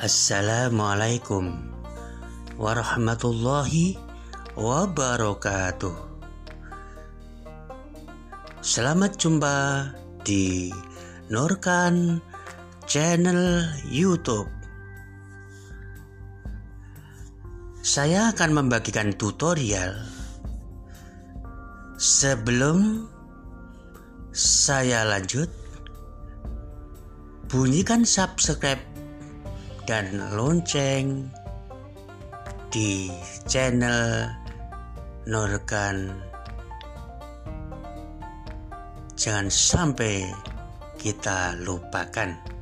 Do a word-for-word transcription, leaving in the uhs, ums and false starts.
Assalamualaikum warahmatullahi wabarakatuh. Selamat jumpa di Nurkan channel YouTube. Saya akan membagikan tutorial. Sebelum saya lanjut, bunyikan subscribe dan lonceng di channel Nurkan. Jangan sampai kita lupakan.